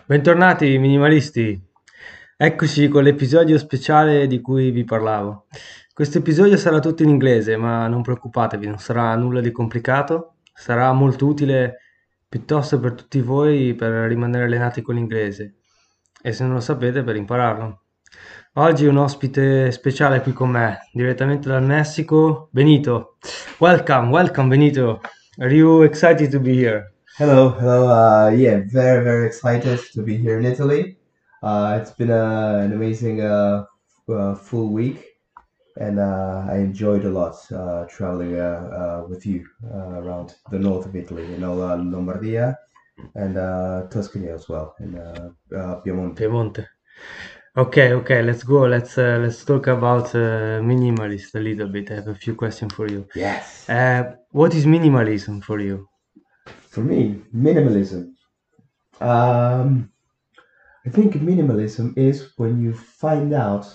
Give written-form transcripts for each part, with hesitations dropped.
Bentornati minimalisti, eccoci con l'episodio speciale di cui vi parlavo. Questo episodio sarà tutto in inglese, ma non preoccupatevi, non sarà nulla di complicato, sarà molto utile piuttosto per tutti voi per rimanere allenati con l'inglese e se non lo sapete per impararlo. Oggi un ospite speciale qui con me, direttamente dal Messico, Benito. Welcome Benito. Are you excited to be here? Hello, hello. Yeah, very, very excited to be here in Italy. It's been an amazing full week, and I enjoyed a lot traveling with you around the north of Italy, Lombardia and Tuscany as well, and Piemonte. Piemonte. Okay, let's go. Let's talk about minimalist a little bit. I have a few questions for you. Yes. What is minimalism for you? For me, minimalism. Um, I think minimalism is when you find out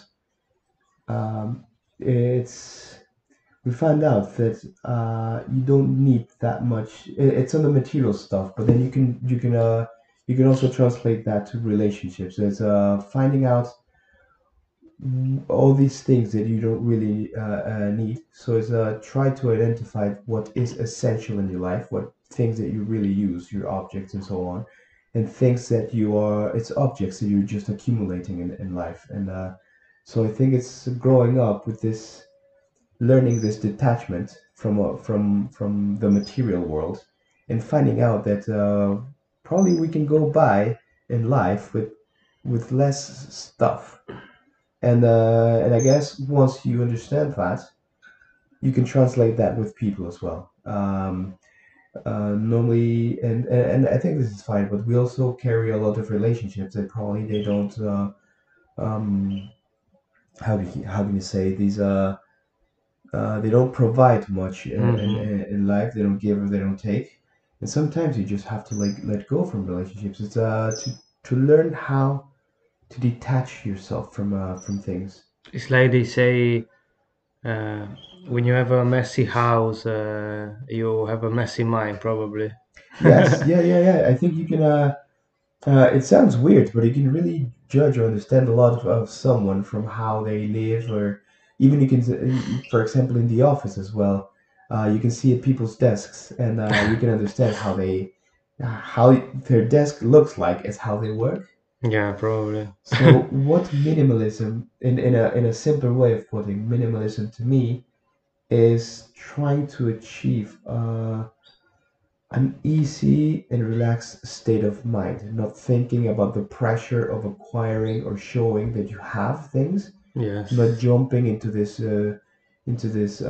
it's we found out that you don't need that much. It's on the material stuff, but then you can also translate that to relationships. It's finding out all these things that you don't really need. So it's try to identify what is essential in your life, what things that you really use, your objects and so on, and things that you are it's objects that you're just accumulating in life. And so I think it's growing up with this learning this detachment from the material world and finding out that probably we can go by in life with less stuff and I guess once you understand that you can translate that with people as well. Normally and I think this is fine, but we also carry a lot of relationships that probably they don't um how can you say these they don't provide much Mhm. in life. They don't give or they don't take. And sometimes you just have to like let go from relationships. It's to learn how to detach yourself from things. It's like they say, uh, when you have a messy house, you have a messy mind, probably. Yes, yeah. I think you can. It sounds weird, but you can really judge or understand a lot of someone from how they live, or even you can, for example, in the office as well. You can see at people's desks, and you can understand how their desk looks like as how they work. Yeah, probably. So, what minimalism, in a simpler way of putting minimalism to me, is trying to achieve an easy and relaxed state of mind, not thinking about the pressure of acquiring or showing that you have things, not Yes. jumping into this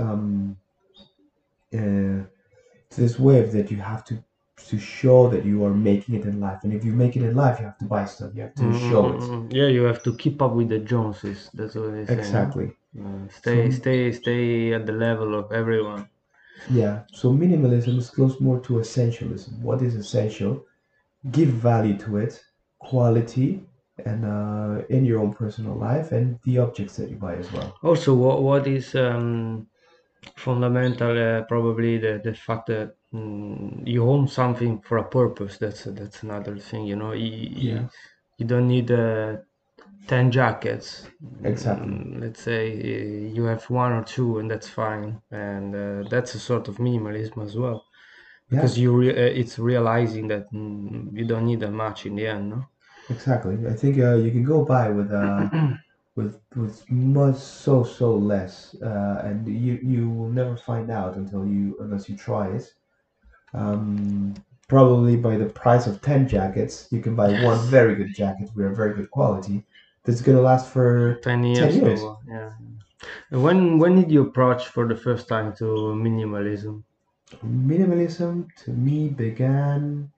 uh, to this wave that you have to show that you are making it in life. And if you make it in life, you have to buy stuff. You have to show it. Yeah, you have to keep up with the Joneses. That's what they say, no? Exactly. So Stay at the level of everyone. yeah, so minimalism is close more to essentialism. What is essential? Give value to it, quality, and in your own personal life, and the objects that you buy as well. Also, what is fundamental? Probably the fact that you own something for a purpose. That's another thing. Yeah, You don't need 10 jackets. exactly. Let's say you have one or two, and that's fine. And that's a sort of minimalism as well, Yeah, because it's realizing that you don't need that much in the end, no? exactly. I think you can go by with much so less, and you will never find out unless you try it. Um, Probably by the price of 10 jackets, you can buy one Yes. very good jacket with a very good quality that's gonna last for 10 10 years years. or yeah. And when did you approach for the first time to minimalism? Minimalism to me began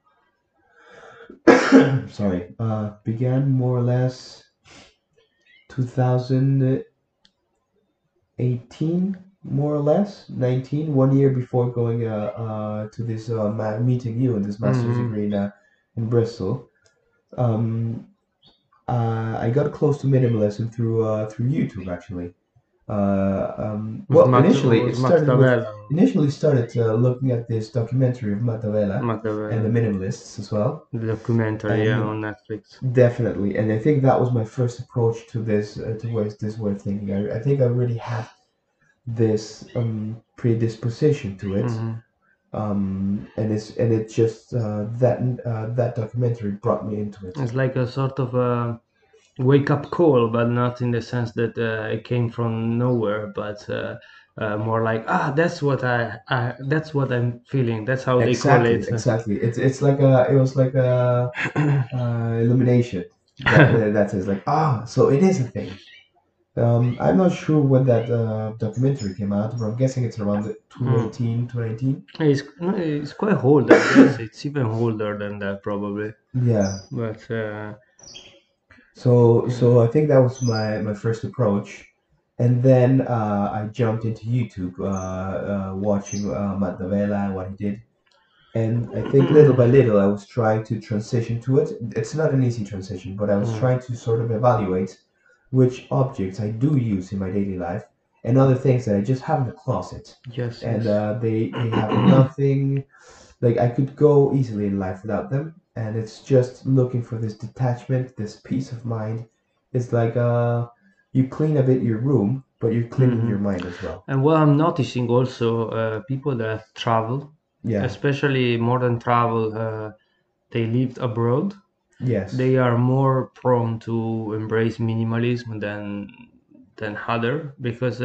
sorry, began more or less 2018, more or less 19, 1 year before going to this meeting you in this master's Hmm. degree in Bristol. Um, I got close to minimalism through YouTube actually. Was Well, initially it was started with Machiavelli. initially started looking at this documentary of Mattavella and the Machiavelli. minimalists as well, The documentary, yeah, and on Netflix. definitely, and I think that was my first approach to this towards this way of thinking. I think I really had this predisposition to it, Hmm. and it just that documentary brought me into it. It's like a sort of a wake up call, but not in the sense that it came from nowhere, but more like, that's what I'm feeling. That's how they call Exactly, it. exactly. It's like a it was like a illumination that is like so it is a thing. I'm not sure when that documentary came out, but I'm guessing it's around the Mm. 2018, 2019. It's quite old, I guess. It's even older than that, probably. Yeah. But So yeah. I think that was my first approach, and then I jumped into YouTube, watching Matt Davella and what he did, and I think little by little I was trying to transition to it. It's not an easy transition, but I was Mm. trying to sort of evaluate which objects I do use in my daily life and other things that I just have in the closet, Yes, and yes. they have nothing. Like I could go easily in life without them, and it's just looking for this detachment, this peace of mind. It's like you clean a bit your room, but you're cleaning Hmm. your mind as well. And what I'm noticing also, people that travel, Yeah. especially modern travel, they lived abroad. Yes. They are more prone to embrace minimalism than other because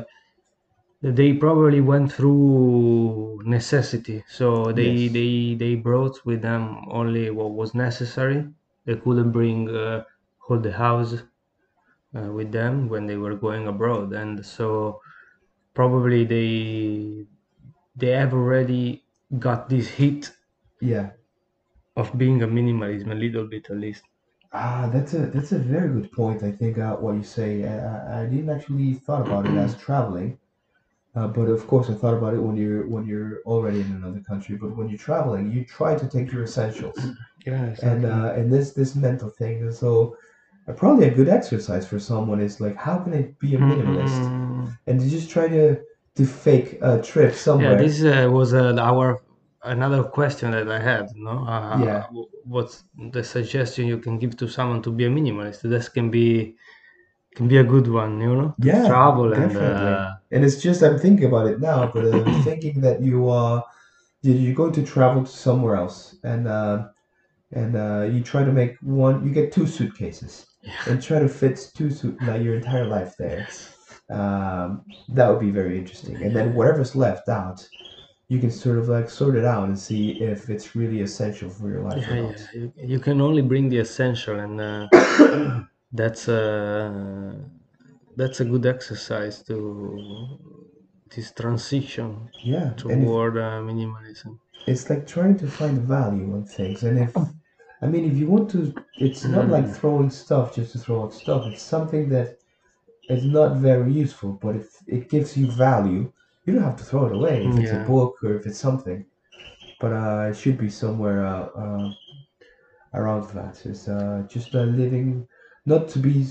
they probably went through necessity. So Yes. they brought with them only what was necessary. They couldn't bring whole the house with them when they were going abroad, and so probably they have already got this hit Yeah. of being a minimalism a little bit at least. That's a very good point. I think what you say. I didn't actually thought about it as traveling, but of course I thought about it when you're already in another country. But when you're traveling, you try to take your essentials, Yeah, exactly. and this mental thing. And so probably a good exercise for someone is like, how can I be a minimalist? Mm-mm. And to just try to fake a trip Yeah, somewhere. this was our another question that I had. No, Yeah, what's the suggestion you can give to someone to be a minimalist? This can be a good one, to yeah, travel and definitely. And it's just I'm thinking about it now, but thinking that you're going to travel to somewhere else, and you try to make one. You get two suitcases and try to fit like your entire life there. yes, That would be very interesting. And then whatever's left out, you can sort of like sort it out and see if it's really essential for your life or yeah, not. yeah. You can only bring the essential, and that's uh, that's a good exercise to this transition Yeah, and if toward minimalism. it's like trying to find value on things, and if you want to, it's not like Mm. throwing stuff just to throw out stuff. It's something that is not very useful, but if it gives you value, you don't have to throw it away. If it's a Yeah. book or if it's something, but it should be somewhere around that. It's just living, not to be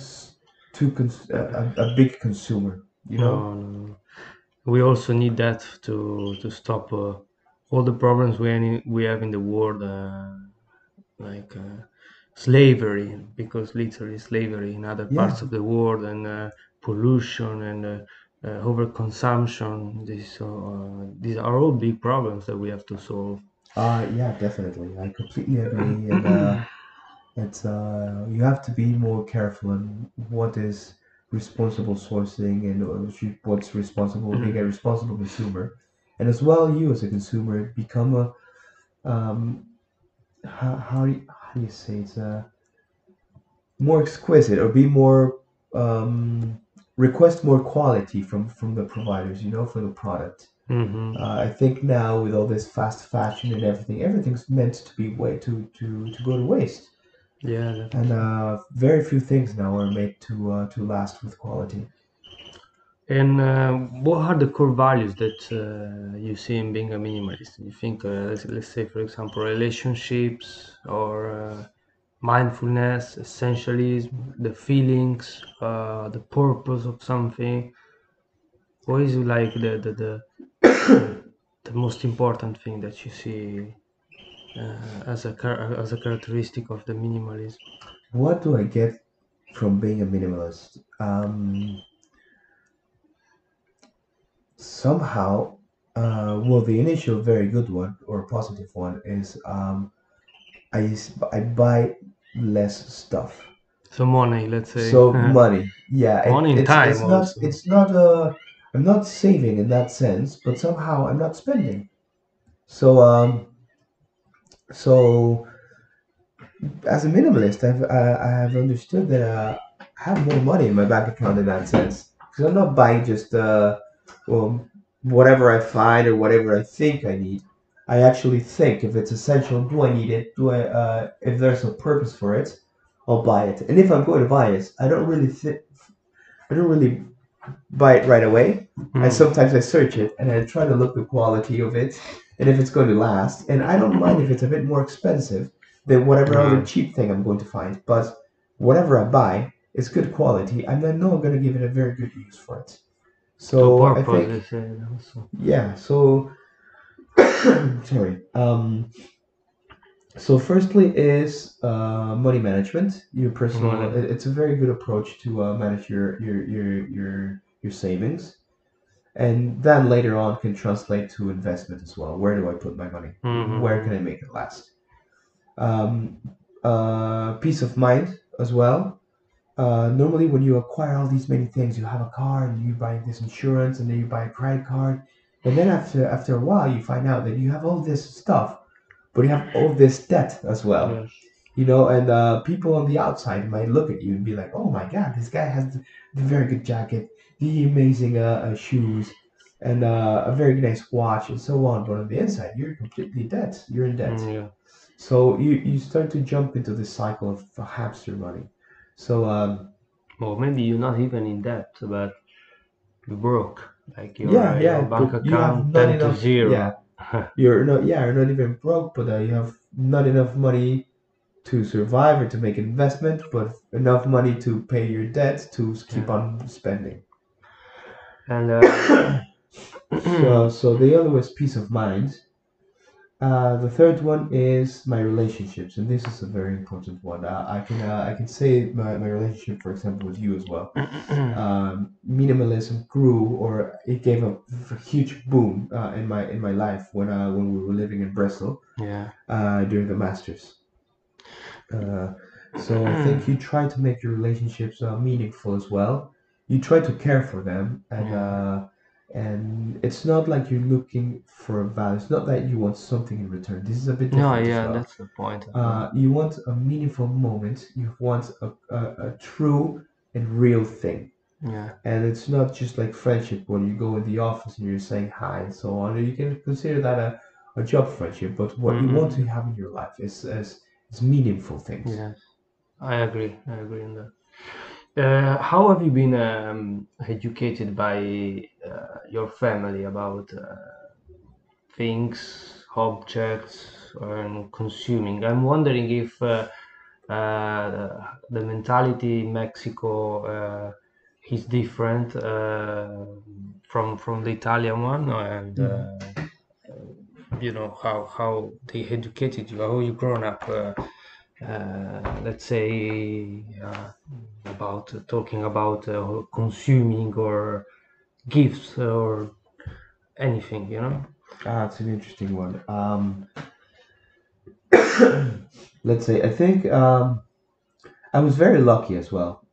a big consumer. You know? No, no, no. We also need that to stop all the problems we have in the world, like slavery, because literally slavery in other Yeah. parts of the world, and pollution and overconsumption. These are all big problems that we have to solve. Yeah, definitely. I completely agree, and it's you have to be more careful on what is responsible sourcing and what's responsible being a responsible consumer, and as well you as a consumer become a how do you say it's more exquisite or be more request more quality from the providers, for the product. Hmm. I think now with all this fast fashion and everything, everything's meant to be way to go to waste. Yeah, And definitely. very few things now are made to last with quality. And what are the core values that you see in being a minimalist? You think, let's say, for example, relationships or mindfulness, essentialism, the feelings, the purpose of something. What is like the most important thing that you see as a characteristic of the minimalism? What do I get from being a minimalist? Somehow, well, the initial very good one or positive one is I buy less stuff. So money, let's say. So money, yeah, Money and time also. it's not I'm not saving in that sense, but somehow I'm not spending. So so as a minimalist, I have understood that I have more money in my bank account in that sense because I'm not buying just well whatever I find or whatever I think I need. I actually think if it's essential, do I need it? Do I if there's a purpose for it, I'll buy it. And if I'm going to buy it, I don't really buy it right away. Mm. I search it and I try to look the quality of it and if it's going to last. And I don't mind if it's a bit more expensive than whatever other Uh, cheap thing I'm going to find. But whatever I buy is good quality. I know I'm going to give it a very good use for it. to So I purpose, they think, say also. yeah. So sorry. So firstly is money management. Your personal. Money. It's a very good approach to manage your savings. And then later on can translate to investment as well. Where do I put my money? Where can Mm-hmm. I make it last? Um, Peace of mind as well. Normally, when you acquire all these many things, you have a car and you buy this insurance and then you buy a credit card, and then after a while, you find out that you have all this stuff, but you have all this debt as well. Yes. You know, and people on the outside might look at you and be like, "Oh my God, this guy has the very good jacket, the amazing shoes, and a very nice watch, and so on." But on the inside, you're completely dead. You're in debt. Yeah. So you start to jump into this cycle of hamster money. So Or maybe you're not even in debt, but you broke. Like yeah, your yeah, bank but you have account not tend to enough. Yeah, zero. you're not even broke, but you have not enough money to survive or to make investment, but enough money to pay your debt to keep Yeah. on spending. And So the other was peace of mind. The third one is my relationships, and this is a very important one. I can say my relationship, for example, with you as well. Minimalism grew, or it gave a huge boom in my life when we were living in Bristol yeah. during the masters. Uh, so I think you try to make your relationships meaningful as well. You try to care for them, Yeah. and it's not like you're looking for a value. It's not that you want something in return. This is a bit No, different as yeah, well. that's the point as well. You want a meaningful moment. You want a true and real thing. Yeah. And it's not just like friendship when you go in the office and you're saying hi and so on. You can consider that a job friendship, but what you want to Mm-mm. have in your life is meaningful things. Yes, I agree. I agree on that. How have you been educated by your family about things, objects, and consuming? I'm wondering if the mentality in Mexico is different from the Italian one, and Mhm. how they educated you, how you grown up. Let's say about talking about consuming or gifts or anything, Ah, it's an interesting one. Let's say I think I was very lucky as well.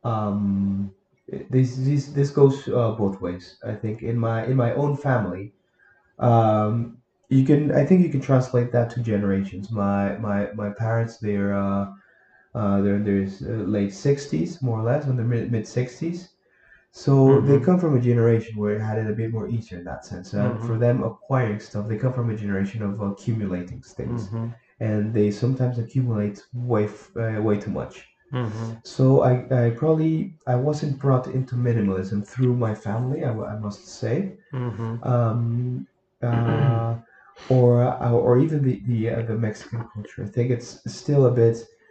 This goes both ways. I think in my own family, um, you can I think you can translate that to generations. My parents they're in their late 60s more or less, in the mid 60s. So they Mm-hmm. come from a generation where it had it a bit more easier in that sense. And for Mm-hmm. them, acquiring stuff, they come from a generation of accumulating things, Mm-hmm. and they sometimes accumulate way too much. Mm-hmm. So I wasn't brought into minimalism through my family. I must say, Mm-hmm. um, uh, or even the Mexican culture. I think it's still a bit.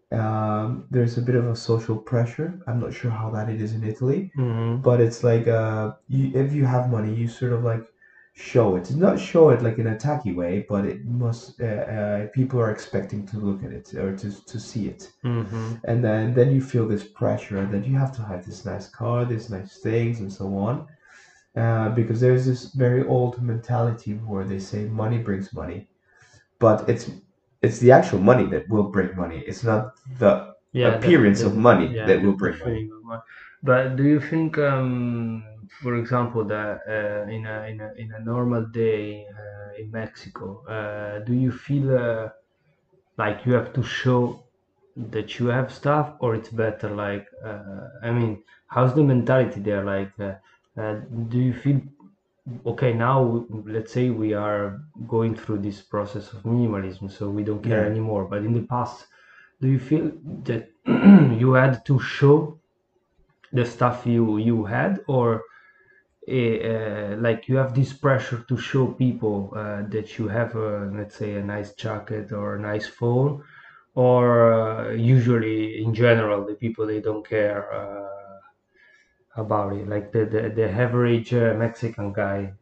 There's a bit of a social pressure. I'm not sure how that it is in Italy, Mm-hmm. but it's like if you have money, you sort of like show it. Not show it like in a tacky way, but it must. People are expecting to look at it or to see it, Mm-hmm. and then you feel this pressure that you have to have this nice car, these nice things, and so on. Because there's this very old mentality where they say money brings money, but it's the actual money that will bring money. It's not the Yeah, appearance of money that will the bring money. feeling of my. But do you think, for example, that in a normal day in Mexico, do you feel like you have to show that you have stuff, or it's better like, I mean, how's the mentality there? Like, do you feel okay now? Let's say we are going through this process of minimalism, so we don't care Yeah. anymore. But in the past, do you feel that you had to show the stuff you had, or like you have this pressure to show people that you have, let's say, a nice jacket or a nice phone, or usually in general the people they don't care about it, like the average Mexican guy.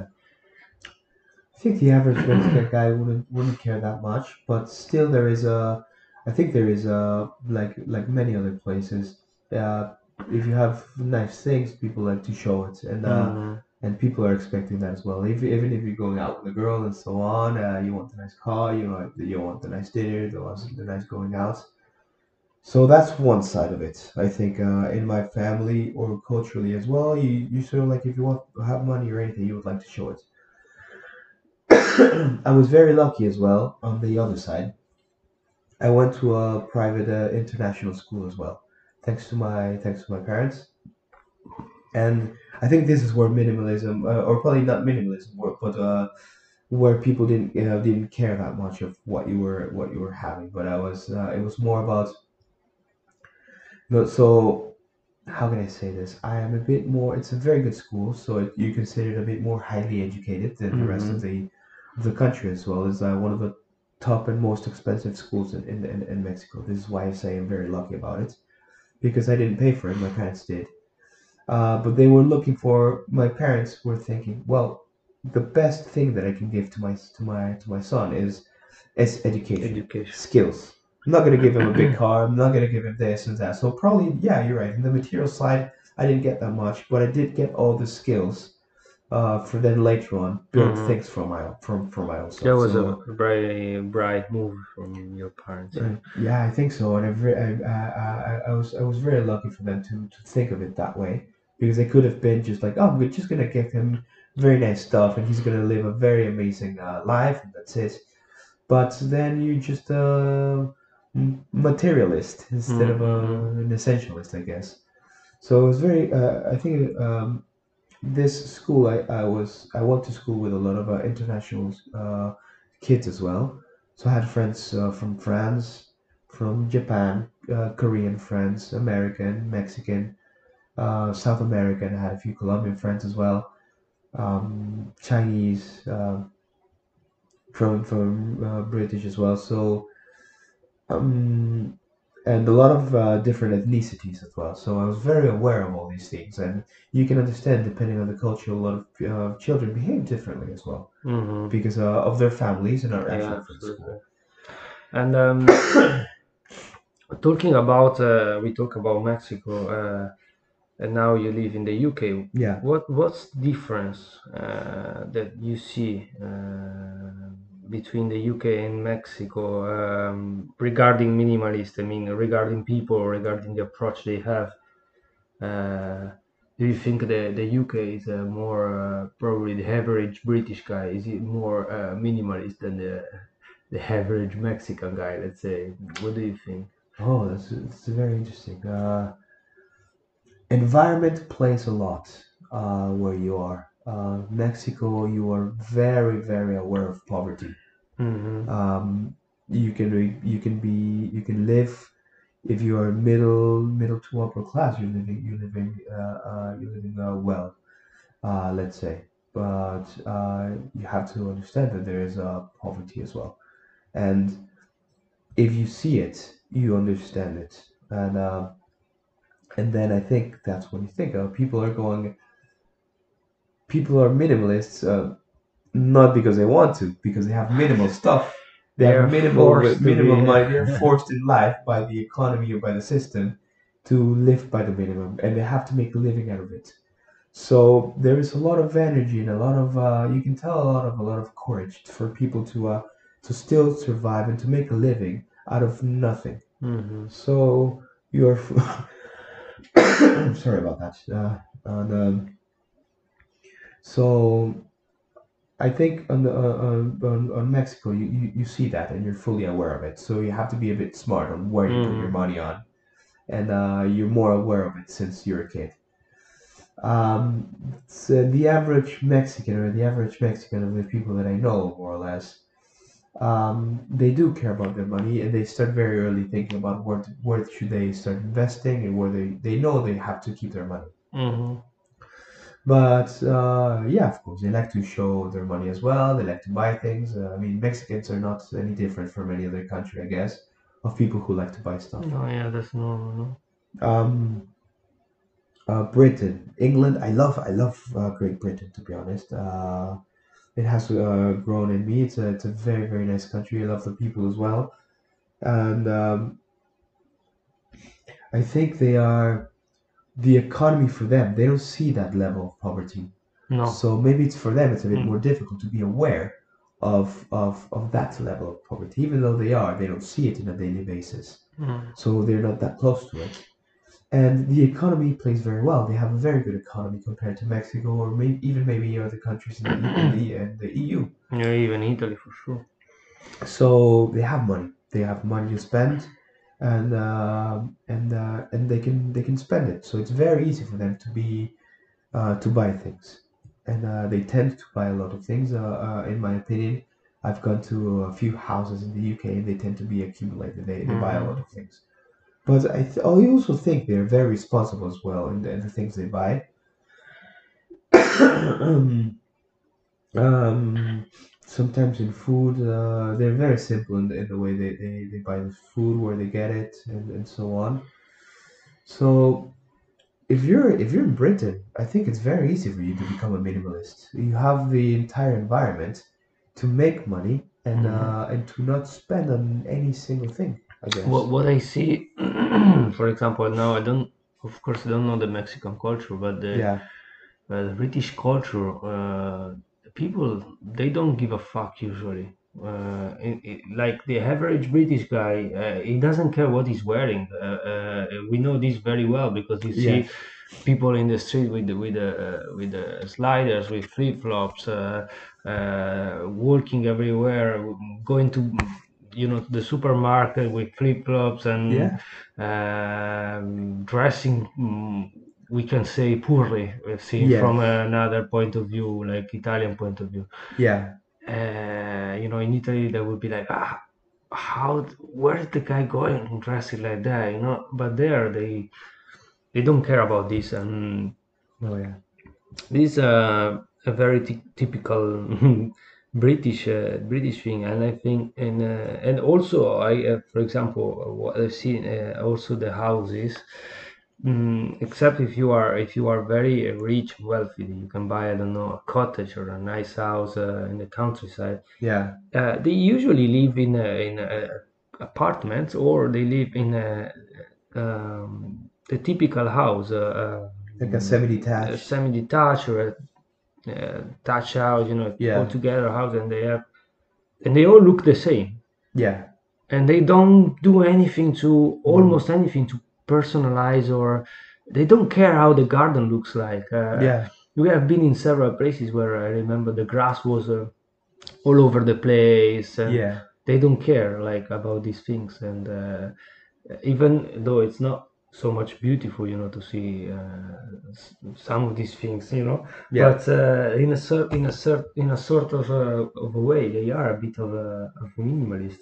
I think the average Mexican guy wouldn't care that much, but still there is a, I think there is a like many other places. Uh, if you have nice things, people like to show it, Mhm. and people are expecting that as well. If, even if you're going out with a girl and so on, you want the nice car, you want the nice dinner, the nice going out. So that's one side of it. I think in my family or culturally as well, you sort of like if you want to have money or anything, you would like to show it. I was very lucky as well on the other side. I went to a private international school as well, thanks to my parents. And I think this is where minimalism, or probably not minimalism, but where people didn't care that much of what you were having. But I was it was more about no. So how can I say this? I am a bit more. It's a very good school, so you consider it a bit more highly educated than the rest Mhm. of the country as well. It's one of the top and most expensive schools in Mexico. This is why I say I'm very lucky about it because I didn't pay for it. My parents did, but they were looking for. My parents were thinking, well, the best thing that I can give to my son is education, Education. skills. I'm not gonna give him a big car. I'm not gonna give him this and that. So probably, yeah, you're right. In the material side, I didn't get that much, but I did get all the skills for then later on build Mhm. things for my own That self. was a So very bright move from your parents, yeah. yeah, I think so, and I was very lucky for them to think of it that way because they could have been just like, oh, we're just gonna give him very nice stuff and he's gonna live a very amazing life and that's it. But then you just materialist instead of Mm-hmm. an essentialist, I guess. So it was very. I think this school I went to school with a lot of international kids as well. So I had friends from France, from Japan, Korean friends, American, Mexican, South American. I had a few Colombian friends as well. Chinese, from British as well. So um, and a lot of different ethnicities as well. So I was very aware of all these things, and you can understand, depending on the culture, a lot of children behave differently as well Mm-hmm. because of their families and are Yeah, actually from absolutely. school. And talking about, we talk about Mexico, and now you live in the UK. Yeah. What's the difference that you see between the UK and Mexico regarding minimalist? I mean, regarding people, regarding the approach they have. Uh, do you think the UK is more probably the average British guy? Is it more minimalist than the average Mexican guy? Let's say. What do you think? Oh, that's very interesting. Environment plays a lot where you are. Mexico, you are very aware of poverty. Mm-hmm. Um, you can live if you are middle to upper class. You're living well. Let's say, but you have to understand that there is poverty as well, and if you see it. you understand it. And then I think that's what you think of. People are minimalists, not because they want to, because they have minimal stuff. They They have are forced to minimum be. money. They're forced in life by the economy or by the system to live by the minimum, and they have to make a living out of it. So there is a lot of energy and a lot of you can tell a lot of courage for people to still survive and to make a living out of nothing. Mhm. So you're sorry about that. And so I think on Mexico, you see that and you're fully aware of it. So you have to be a bit smart on where you put your Mhm. money on, and you're more aware of it since you're a kid. So the average Mexican or the average Mexican of the people that I know, more or less, they do care about their money and they start very early thinking about where should they start investing and where they know they have to keep their money. Mhm. But yeah, of course, they like to show their money as well. They like to buy things. I mean, Mexicans are not any different from any other country, I guess, of people who like to buy stuff. Oh yeah, that's normal, no? Um, Britain, England. I love Great Britain, to be honest. It has grown in me. It's a very, very nice country. I love the people as well. And I think they are the economy for them. They don't see that level of poverty. No. So maybe it's for them, it's a bit more Mm. difficult to be aware of that level of poverty. Even though they don't see it on a daily basis. Mm. So they're not that close to it. And the economy plays very well. They have a very good economy compared to Mexico or even maybe other countries in the EU. Yeah, even Italy for sure. So they have money. They have money to spend, and they can spend it. So it's very easy for them to buy things, and they tend to buy a lot of things. In my opinion, I've gone to a few houses in the UK, and they tend to be accumulated. They buy a lot Mhm. of things. But I also think they're very responsible as well in the things they buy. Um, Sometimes in food, they're very simple in the way they buy the food, where they get it, and so on. So if you're in Britain, I think it's very easy for you to become a minimalist. You have the entire environment to make money Mhm. and to not spend on any single thing, I guess. What I see, for example, now I don't, of course, I don't know the Mexican culture, but Yeah, the British culture, the people they don't give a fuck usually. Like the average British guy, he doesn't care what he's wearing. We know this very well because you yeah, see people in the street with the sliders, with flip flops, walking everywhere, going to the supermarket with flip flops and yeah, dressing. We can say poorly, seen yeah, from another point of view, like Italian point of view. yeah, In Italy, they would be like, where's the guy going dressing like that? But there, they don't care about this, and oh yeah, this is a very typical British thing, and I think, and also for example, what I see also the houses. Except if you are very rich, wealthy, you can buy, I don't know, a cottage or a nice house in the countryside. yeah, They usually live in apartments, or they live in the typical house, like a semi-detached. semi-detached or thatch house, all Yeah, together house, and they all look the same, yeah, and they don't do anything to mm, almost anything to personalize, or they don't care how the garden looks like. yeah, We have been in several places where I remember the grass was all over the place, and yeah, they don't care like about these things, and even though it's not so much beautiful, to see some of these things, yeah. but in a sort of a way, they are a bit of a minimalist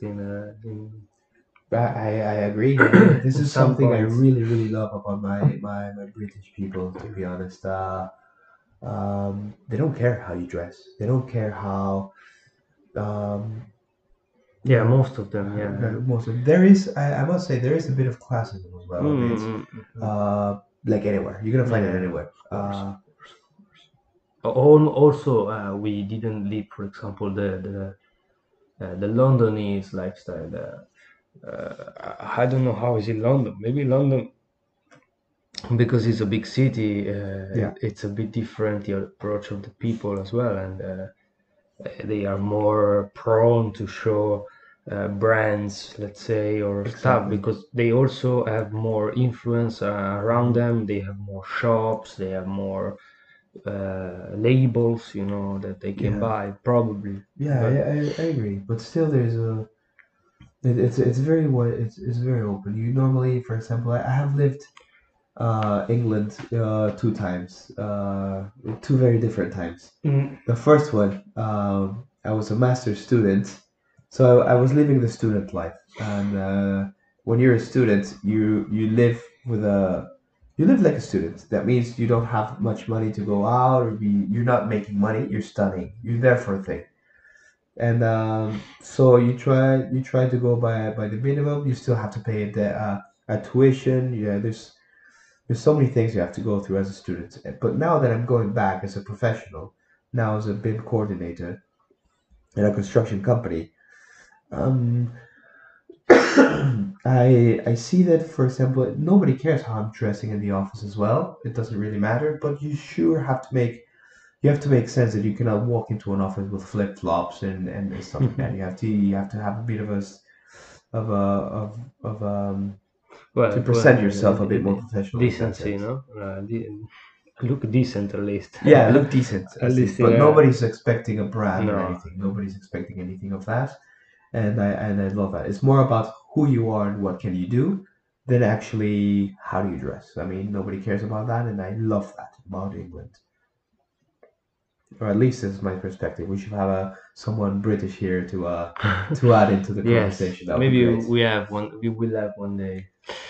I agree. I mean, this in is some something I points. really, really love about my British people, to be honest. They don't care how you dress. They don't care how um, Yeah, most of them. Most of there is, I must say, there is a bit of classism as well. A bit, Mm-hmm. like anywhere, you're gonna find it Yeah, anywhere. of course, of course, of course. Also, we didn't live, for example, the Londonese lifestyle. I don't know how is in London. Maybe London, because it's a big city, Yeah, it's a bit different, the approach of the people as well, and they are more prone to show brands, let's say, or stuff, exactly. because they also have more influence around Hmm. them. They have more shops, they have more labels, that they can Yeah, buy, probably. yeah, But I agree. But still, there's a it's very wide. It's very open. You normally, for example, I have lived England two times, two very different times. mm, The first one, I was a master's student, so I was living the student life. And when you're a student, you live with a you live like a student. That means you don't have much money to go out or be. You're not making money. You're studying. You're there for a thing. And so you try to go by the minimum. You still have to pay a tuition. Yeah, there's so many things you have to go through as a student. But now that I'm going back as a professional, now as a BIM coordinator in a construction company, um, I see that, for example, nobody cares how I'm dressing in the office as well. It doesn't really matter, but you have to make sense that you cannot walk into an office with flip flops and stuff like that. You have to have a bit of a s- of to well, present yourself a bit more professional in that decency, sense. no? Look decent at least. Yeah, look decent, At at least, least, but yeah. nobody's expecting a brand or No. anything. Nobody's expecting anything of that, and I love that. It's more about who you are and what can you do than actually how do you dress. I mean, nobody cares about that, and I love that about England, or at least this is my perspective. We should have someone British here to add into the Yes, conversation. That would be maybe great. we have one. We will have one day.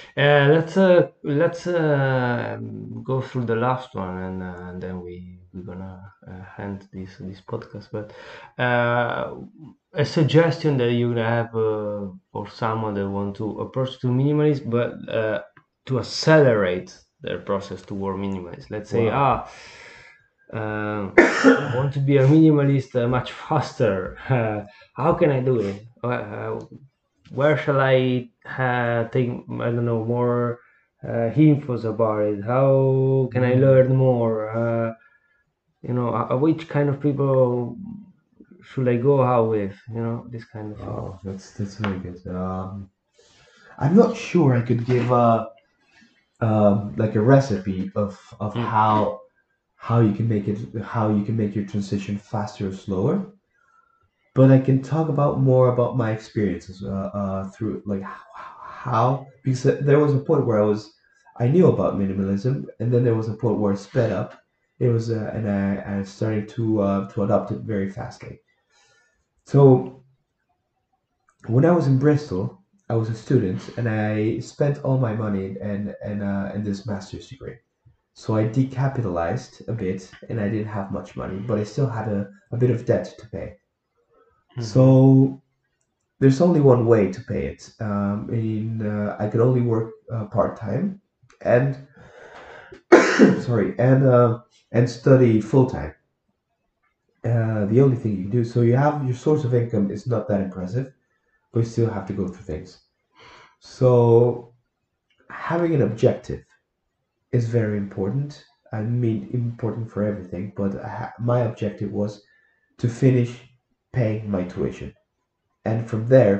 Let's go through the last one, and then we're gonna end this podcast. But a suggestion that you have for someone that want to approach to minimalist, but to accelerate their process toward minimalist. Let's say, Wow. I want to be a minimalist much faster. How can I do it? Where shall I take, I don't know, more infos about it? How can I Mm. learn more? Which kind of people should I go out with? This kind of thing. Oh, that's very good. I'm not sure I could give like a recipe of Mm. how you can make it how you can make your transition faster or slower, but I can talk about more about my experiences through like how because there was a point where I knew about minimalism, and then there was a point where it sped up. It was and I started to adopt it very fastly. So when I was in Bristol, I was a student and I spent all my money in this master's degree. So I decapitalized a bit and I didn't have much money, but I still had a bit of debt to pay. Hmm. So there's only one way to pay it. I could only work part time and sorry and study full time. The only thing you can do, so you have your source of income is not that impressive, but you still have to go through things. So having an objective is very important. I mean, important for everything, but my objective was to finish paying my tuition. And from there,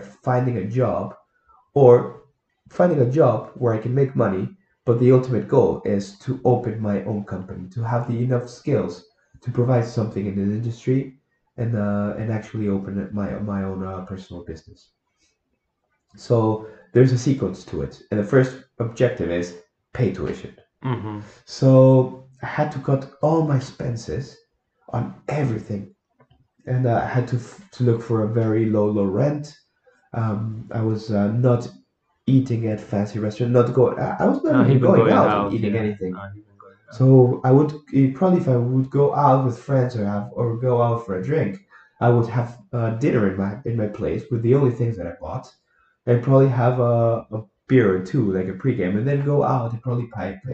or finding a job where I can make money. But the ultimate goal is to open my own company, to have the enough skills to provide something in the industry and actually open my own personal business. So there's a sequence to it. And the first objective is pay tuition. Hmm. So I had to cut all my expenses on everything, and I had to look for a very low rent. I was not eating at fancy restaurant, not going. I was not Not even even going going out and out, eating yeah. anything. Not even going out. So I would probably if I would go out with friends or go out for a drink, I would have dinner in my place with the only things that I bought, and probably have a beer or two, like a pregame, and then go out and probably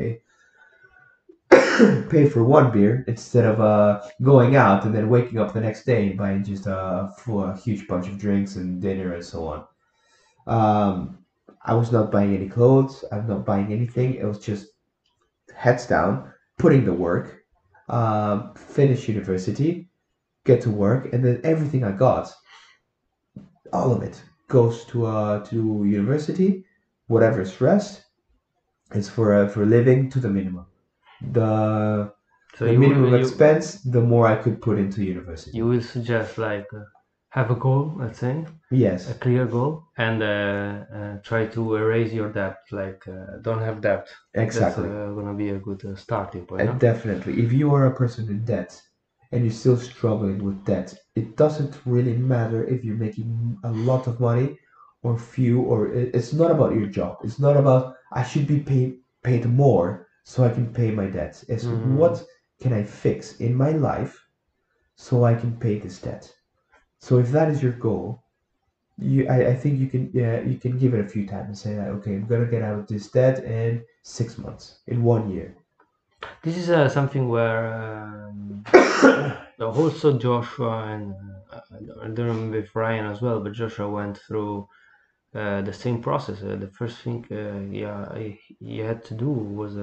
pay for one beer instead of going out and then waking up the next day and buying just a huge bunch of drinks and dinner and so on. Um, I was not buying any clothes. I'm not buying anything. It was just heads down, putting the work, finish university, get to work, and then everything I got, all of it, goes to university. Whatever stress is for living to the minimum. The So the you will minimum expense, the more I could put into you university. will suggest like have a goal, let's say, a Yes, clear goal, and try to erase your debt. Like don't have debt. That's exactly. gonna be a good starting point, And no? definitely, if you are a person in debt and you're still struggling with debt, it doesn't really matter if you're making a lot of money or few, or it's not about your job. It's not about I should be paid more so I can pay my debts. It's Mm, what can I fix in my life so I can pay this debt. So if that is your goal, I think you can, yeah, you can give it a few times and say that, okay, I'm gonna get out of this debt in 6 months, in 1 year. this is something where also Joshua and I don't remember if Ryan as well, but Joshua went through the same process. The first thing he had to do was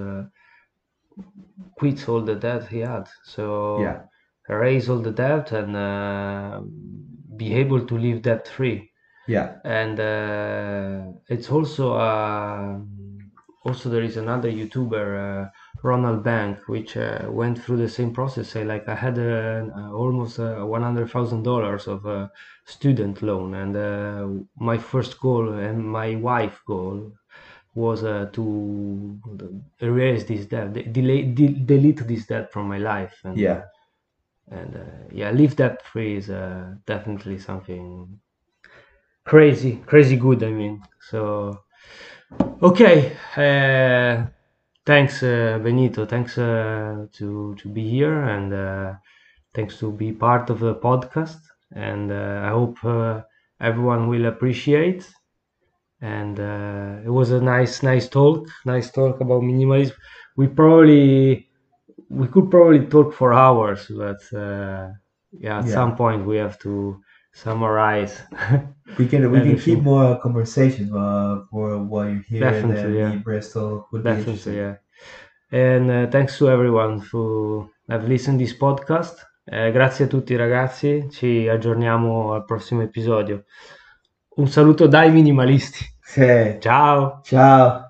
quit all the debt he had. So Yeah, erase all the debt and be able to live debt free. yeah, And it's also also there is another YouTuber, Ronald Bank, which went through the same process. Say like I had almost $100,000 of student loan, and my first goal and my wife goal was to erase this debt, delete this debt from my life, yeah. and yeah, live debt free is definitely something crazy good. I mean, so okay. Thanks, Benito. Thanks to be here, and thanks to be part of the podcast. And I hope everyone will appreciate. And it was a nice talk about minimalism. We probably we could probably talk for hours, but yeah, at some Yeah, point we have to summarize we can keep everything. more conversations for while you're here, and Definitely, then me yeah. in Bristol would be Definitely, interesting. yeah. And thanks to everyone who have listened this podcast. Grazie a tutti ragazzi, ci aggiorniamo al prossimo episodio. Un saluto dai minimalisti. Okay, Ciao! ciao.